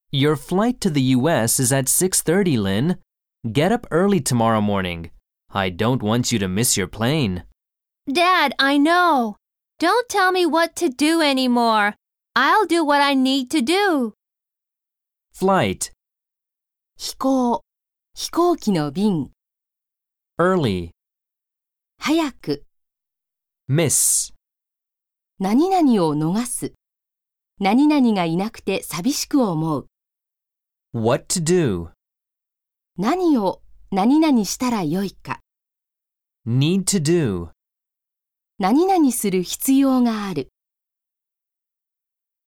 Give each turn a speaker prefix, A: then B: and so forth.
A: Your flight to the US is at 6:30, Lynn. Get up early tomorrow morning. I don't want you to miss your plane.
B: Dad, I know. Don't tell me what to do anymore. I'll do what I need to do.
A: Flight,
C: 飛行、飛行機の便、
A: early,
C: 早く、
A: miss,
C: 何々を逃す、何々がいなくて寂しく思う、
A: what to do,
C: 何を何々したらよいか、
A: need to do.
C: 何々する必要がある。